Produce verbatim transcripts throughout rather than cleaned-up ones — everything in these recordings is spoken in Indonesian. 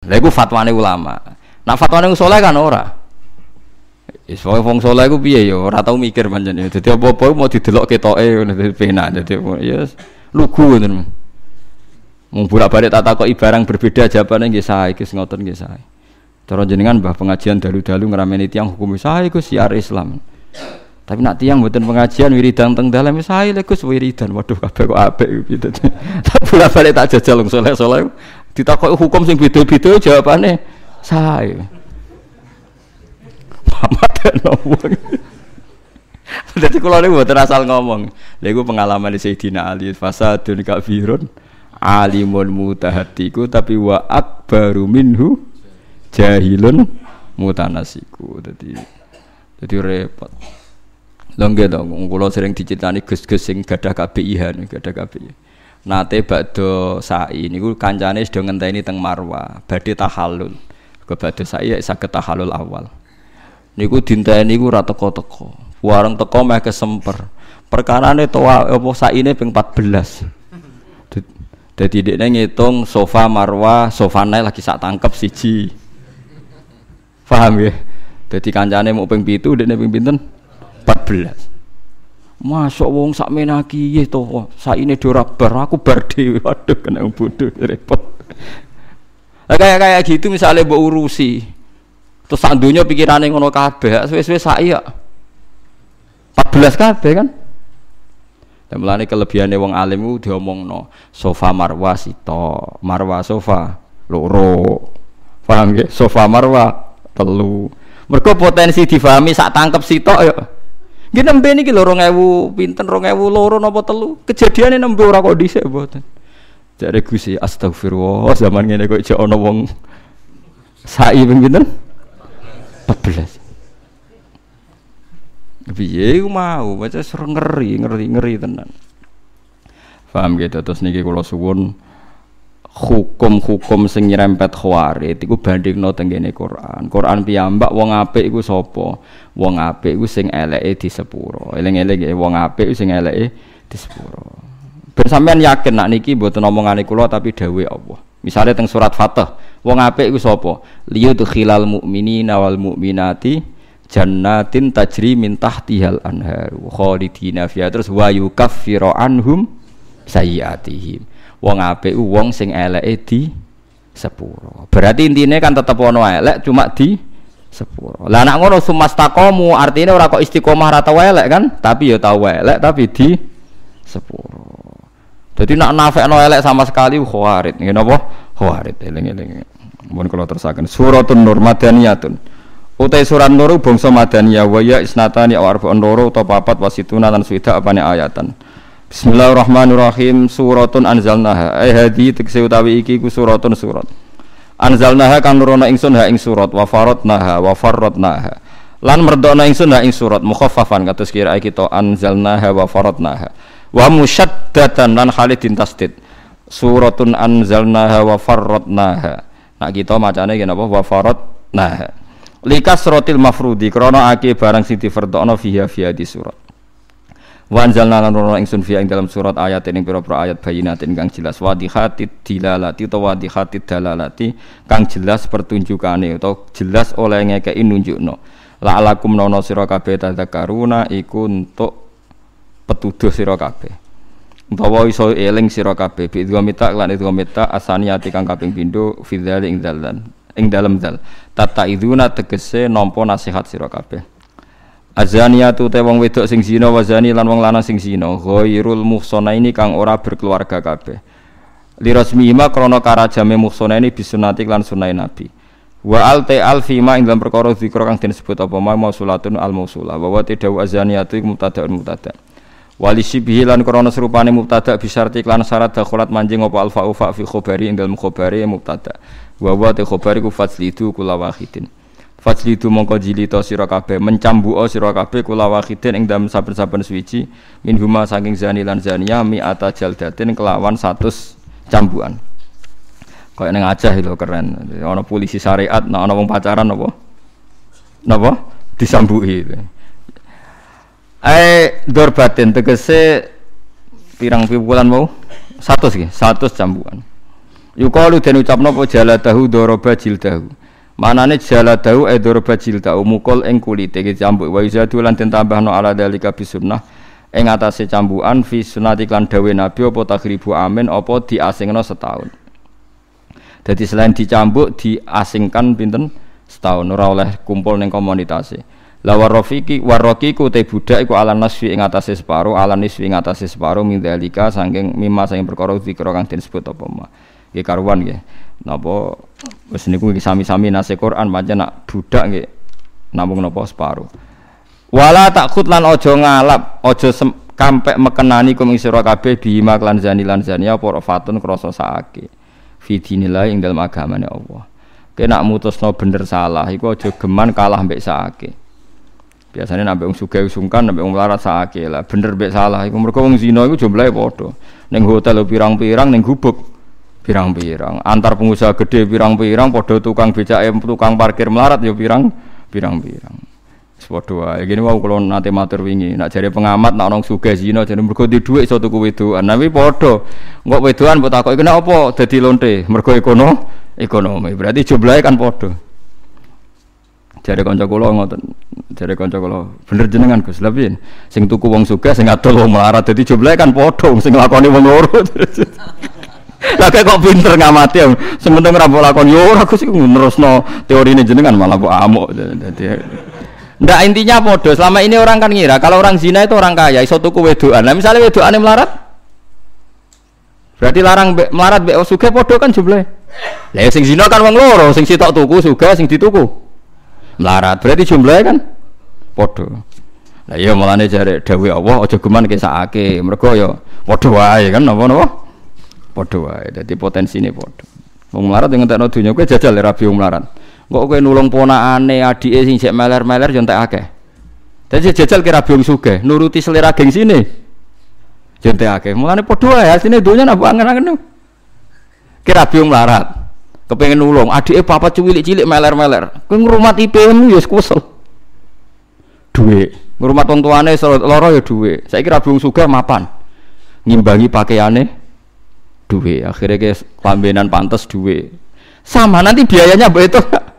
Lha iku fatwane ulama. Nah fatwane wong saleh kan ora. Wis wong saleh iku piye ya ora tau mikir pancen. Dadi apa-apa mau didelok ketoke ngono dadi penak. Dadi ya lugu ngoten. Mung bolak-balik tak takoki barang berbeda jawabane nggih sae Gus ngoten nggih sae. Cara jenengan mbah pengajian dalu-dalu ngrameni tiyang hukum sae Gus siar Islam. Tapi nak tiyang mboten pengajian wiridan teng dalem sae lek Gus wiridan. Waduh kabeh kok apik gitu. Tak bolak-balik tak jajal wong saleh-saleh ditakoki hukum sing beda-beda jawabane sae. Wong. Dadi kula niku mboten asal ngomong. Lha iku pengalaman Sayyidina Ali fasadun kafirun alimun mutahatiku tapi wa akbaru minhu jahilun mutanasiku. Dadi dadi repot. Lha nggih to kula sering dicritani Gus-gus sing gadah K B I H gadah K B I. Nate badhe sa'i niku kancane sedaya ngenteni teng Marwa badhe tahallul. Ke badhe sa'i saged tahallul awal. Niku dinteni niku ora teko-teko. Wareng teko meh kesemper. Perkarane to apa saine ping empat belas. Dadi dekne ngitung sofa Marwah, sofane lagi sak tangkep siji. Paham ya? Dadi kancane mau ping pitu dekne ping pinten? empat belas. Masuk wong sak menaki nggih to. Saine do ora bar, aku bar dhewe. Waduh kena bodoh repot. Kayak kayak gitu misalnya mbok urusi. Terus sak donya pikirane ngono kabeh, suwe-suwe sak iya. empat belas kabeh kan? Dan mulane kelebihane wong alim ku diomongno, sofa marwa sito, marwa sofa loro. Paham nggih? Sofa marwa telu. Mergo potensi difahami sak tangkep sitok ya. Nggih nembe niki lho dua ribu pinten dua ribu loro napa telu. Kejadiane nembe ora kok dhisik mboten. Jare Gusti astagfirullah zaman ngene kok jek ana wong sa'i ping pinten? empat belas. Piye ku mau, baca ser ngeri, ngeri, ngeri tenan. Paham gitu terus niki kula suwun hukum-hukum sing nyerempet khawarij iku bandingno teng kene Quran. Quran piyambak wong apik iku sapa? Wong apik iku sing eleke di sepuro. Eling-eling wong apik sing eleke di sepuro. Ben sampean yakin nak niki mboten omongane kula tapi dawuhe Allah. Misale teng surat Fatah, wong apik iku sapa? Liyudkhilal mu'minina wal mu'minati jannatin tajri min tahtihal anhar khalidina fiha terus wa yukaffiru anhum sayyiatihim. Wong apik wong sing eleke di sepuro. Berarti intine kan tetep ono elek cuma di sepuro. Lah nek ngono sumastaqamu artine ora kok istiqomah ra tau elek kan, tapi ya tau elek tapi di sepuro. Dadi nek nafekno elek sama sekali khawarit. Nggih napa? Khawarit eling-eling. Mun kula terusaken suratun nur madaniyatun. Utai surat nur bangsa madaniyah wa ya isnatani aw arba'un nur utawa papat wasituna lan swida apane ayatan. Bismillahirrahmanirrahim. Suratun anzalnaha. Ai hadi tekse utawi iki ku suratun surat. Anzalnaha kang nurono ingsun ha ing surat wa faradnaha wa farradnaha. Lan merdona ingsun ha ing surat mukhaffafan kados kira kita anzalnaha wa faradnaha. Wa musyaddatan lan khalidin tasdid. Suratun anzalnaha wa farradnaha. Nak kita macane ngene apa wa faradnaha. Likasratil mafrudi krana ake barang sing difardhana fiha fiha di surat. Wa anzalna lan nurono ingsun fiha ing dalam surat ayat ing pira-pira ayat bayinatin kang jelas wadhihatid dilalati utawa wadhihatid dalalati kang jelas pertunjukane utawa jelas oleh ngekeki nunjukno. La'alakum nono sira kabeh tadzakaruna iku untuk petuduh sira kabeh. Utawa iso eling sira kabeh bi idghamita lan idghamita asaniyati kang kaping pindho fi dzal ing dalan ing dalem dzal. Tata iduna tegese nampa nasihat sira kabeh. Azaniyatu te wong wedok sing zina wa zani lan wong lanang sing zina ghairul muhsanaini kang ora berkeluarga kabeh. Li rasmihima krana karajame muhsanaini bisunati lan sunah Nabi. Wa al ta alfima ing dalam perkara zikra kang disebut apa ma mausulatun al mausulah wa wa tadau azaniyatu mubtada'un mubtada'. Wali sibhi lan krana serupane mubtada' bisyarti lan syarat dakhulat manjing apa al fa'u fa fi khabari ing dalam khabari mubtada'. Wa wa ta khabari ku faslidu kula wahidin. Fajlidu mongko jilita sira kabeh mencambuka sira kabeh kula wahidin ing dalem saben-saben suwiji min huma saking zani lan zaniyah mi'ata jaldatin kelawan seratus cambukan. Kaya ning Aceh lho keren. Ana polisi syariat, nek ana wong pacaran apa? Napa? Disambuki. Ae dorbatin tegese pirang piwulan mau? seratus nggih, seratus cambukan. Yuqalu den ucapno apa jaladahu daraba jildahu. Manane jaladahu e daraba jildahu mukul ing kulite iki cambuk wa izadu lan den tambahno ala dalika bisunnah ing atase cambukan fi sunnati lan dawe nabi apa takhribu amin apa diasingno setahun. Dadi selain dicambuk diasingkan pinten setahun ora oleh kumpul ning komunitase. La warafiki warakiku te budak iku ala nasfi ing atase separo ala nisfi ing atase separo min dalika saking mimma saking perkara dikira kang disebut apa ma. Nggih karuan nggih. Napa wis niku sami-sami nase Quran pancen nak budak nggih namung napa separo. Wala takut lan aja ngalap, aja kampek mekenani kum ing sira kabeh bima lan zani lan zania apa fatun krasa saake. Fi dinillah ing dalem agamane Allah. Kena mutusno bener salah iku aja geman kalah mbek saake. Biasane nek wong sugih sungkan nek wong larat saake lah bener mbek salah iku mergo wong zina iku jumlahe padha. Ning hotel pirang-pirang ning gubuk pirang-pirang, antar pengusaha gede pirang-pirang, podo tukang becake tukang parkir melarat ya pirang pirang-pirang. Wis padha wae. Iki wau kula nate matur wingi, nek jare pengamat nek ana sugih zina jare mergo di dhuwit iso tuku wedokan. Tapi padha. Engko wedokan mbok takoki kena apa dadi lonte? Mergo ekono ekonomi. Berarti jumlahe kan padha. Jare kanca kula ngoten. Jare kanca kula, bener jenengan Gus. Lha piye? Sing tuku wong sugih sing adol wong melarat dadi jumlahe kan padha, sing nglakoni wong loro. Lah kok pinter ngamati ya. Sementing ora mbok lakon yo ora Gus iku nerusno teorine jenengan malah mbok amuk. Dadi ndak intinya padha. Selama ini orang kan ngira kalau orang zina itu orang kaya iso tuku wedokan. Lah misale wedokane melarat berarti larang be, melarat mbek sugih padha kan jumlahe. Lah sing zina kan wong loro, sing sitok tuku sugih sing dituku melarat. Berarti jumlahe kan padha. Lah iya mulane jare dawuh Allah aja geman kesakake. Mergo ya padha wae kan napa-napa. Padha wae, dadi potensine padha. Wong melarat yang entekno donya kowe jajal rabi wong melarat. Kok kowe nulung ponakane, adike sing sik meler-meler yo entek akeh. Dadi jajal ki rabi wong sugih, nuruti selera gengsine. Yo entek akeh. Mulane padha wae asine donya napa angen-angen. Ki rabi wong melarat. Kepengin nulung, adike papat cilik-cilik meler-meler. Kowe ngrumat I P-mu yo kesel. Dhuwit. Ngrumat wong tuane lara yo dhuwit. Saiki rabi wong sugih mapan. Ngimbangi pakaiane duwe akhirnya ke kelambenan pantas duwe sama nanti biayanya begitu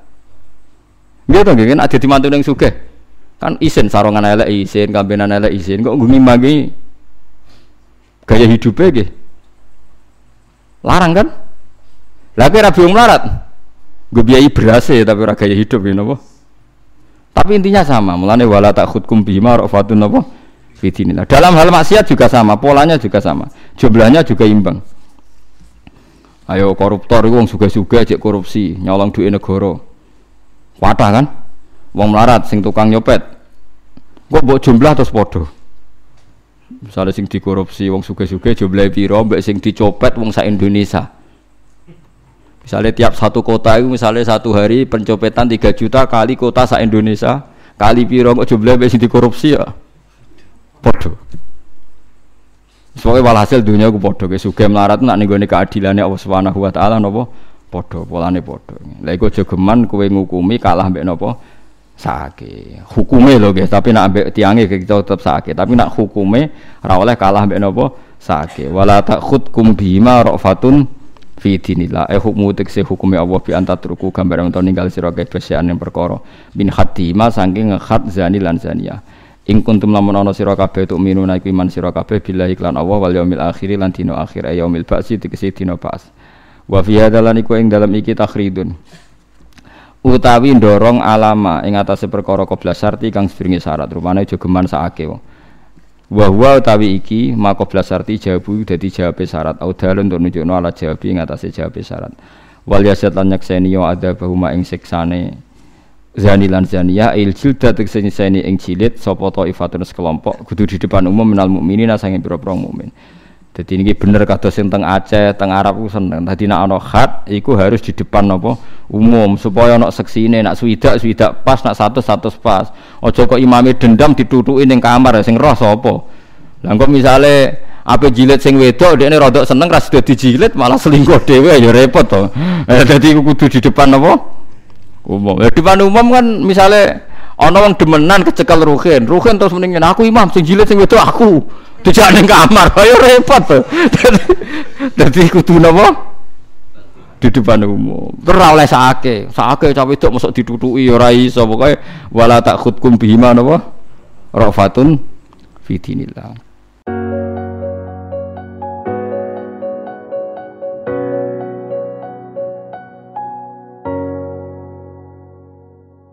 gitu kan ada di mantu yang sugih kan isin sarongan elek isin kelambenan elek isin kok ngimbangi gaya hidupnya gitu larang kan lagi rabi wong melarat gue biayai berase tapi ora gaya hidup gitu apa tapi intinya sama mulane wala takhudkum bima rafatun apa fitinilah dalam hal maksiat juga sama polanya juga sama jumlahnya juga imbang. Ayo koruptor itu wong sugih-sugih cek korupsi, nyolong duit negara. Wadah kan? Wong melarat sing tukang nyopet. Kok mbok jumlah terus padha. Misale sing dikorupsi wong sugih-sugih jumlahe pira mbek sing dicopet wong sak Indonesia. Misale tiap satu kota itu misale satu hari pencopetan tiga juta kali kota sak Indonesia, kali pira kok jumlahe mbek sing dikorupsi ya. Padha. Soale walhasil dunia ku padha ke sugih melarat nak ning gone keadilane Allah Subhanahu wa taala napa padha polane padha. Lah iku aja geman kowe ngukumi kalah mbek napa sake. Hukume lho nggih, tapi nak mbek tiange kita tetep sake, tapi nak hukume ora oleh kalah mbek napa sake. Wala takhudkum bima rafatun fi dinillah. Eh hukmu tekse hukume Allah bi antatruku gambaran utawa ninggal sira kabeh ing perkara bin khatima saking khat zani lan zania. Ing kuntum lamun ana sira kabeh tuk minuna iku iman sira kabeh billahi lan Allah wal yaumil akhir lan dina akhir yaumil ba'si tegese dina ba'as. Wa fi hadalan iku ing dalam iki takhridun. Utawi ndorong alama ing atase perkara qoblas syarti kang sedurunge syarat rupane aja geman sakake wong. Wa huwa utawi iki maqoblas syarti jawabu dadi jawabe syarat audalun untuk nunjukno ala jawabi ing atase jawabe syarat. Wal yasat lan nyakseni wa adabahuma ing siksane zani lan zaniyah il jildat tekseni ing jilid sapa taifatun sekelompok kudu di depan umum minal mukminin sange pira-pira mukmin. Dadi niki bener kados sing teng Aceh, teng Arab ku seneng. Dadi nek ana khat iku harus di depan napa umum supaya ana seksine nek swidak swidak pas nek satu satu pas. Aja kok imame dendam ditutuki ning kamar sing roh sapa. Lah engko misale ape jilid sing wedok dekne rodok seneng ra sida dijilid malah selingkuh dhewe ya repot to. Dadi kudu di depan napa umum. Ya depan umum kan misalnya ana wong demenan kecekel ruhin, ruhin terus mending aku imam sing jilid sing wedok aku. Dijak ning kamar, ayo repot to. Dadi kudu napa? di depan umum. Ora oleh sake, sake cawe wedok mosok ditutuki ora iso pokoke wala takhudkum bihima napa rafatun fi dinillah.